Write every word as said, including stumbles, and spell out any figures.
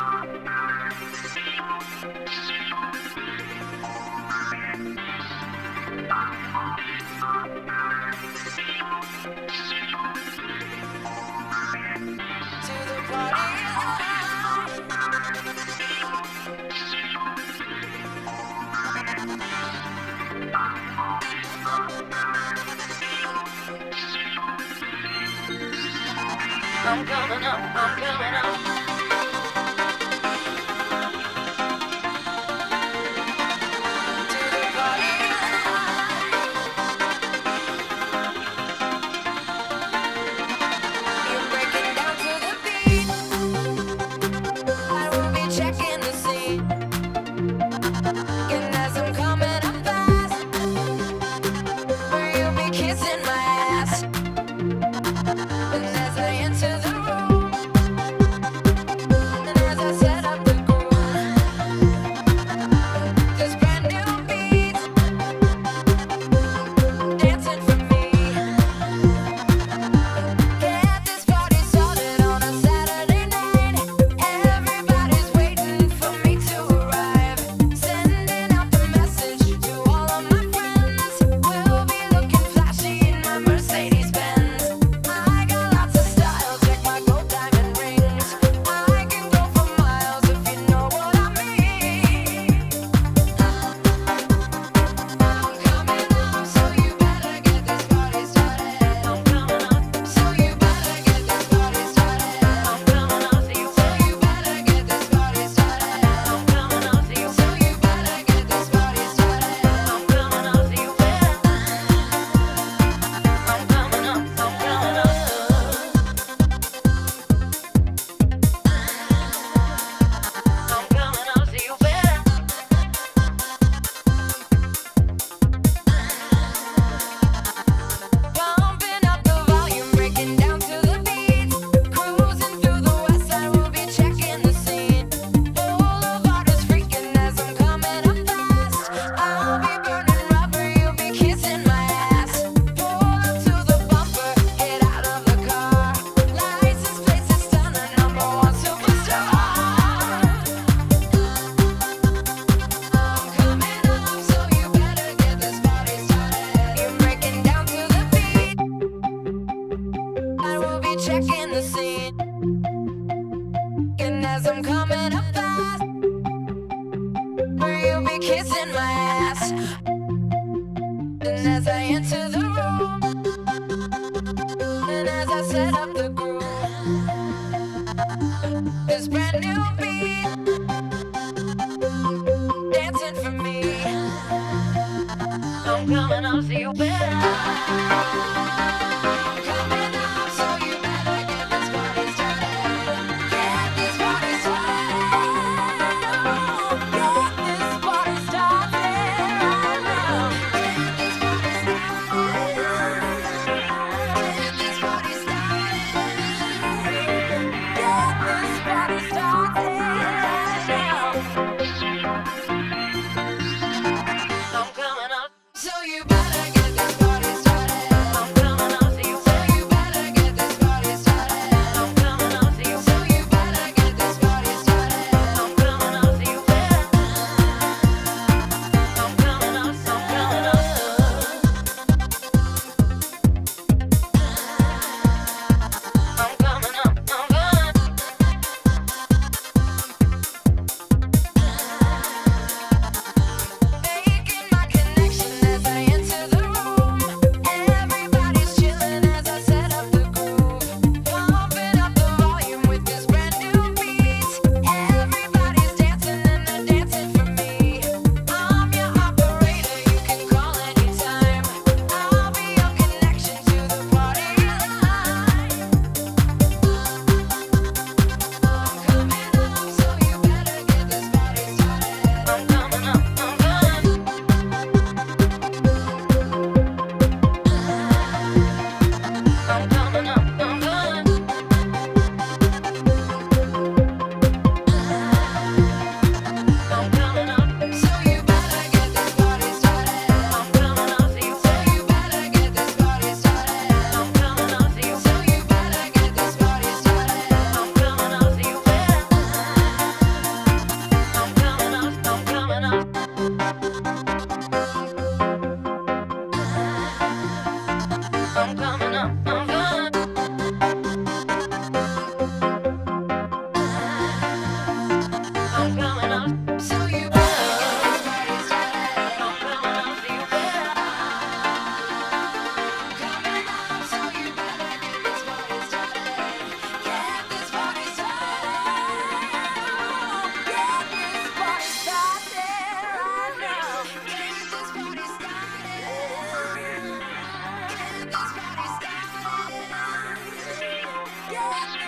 I'm coming up, I'm coming up. Checking the scene, and as I'm coming up fast, will you be kissing my ass? And as I enter the room, and as I set up the groove, this brand new beat dancing for me. I'm coming up, so you better. So you better get this party started. I'm coming up. Watch me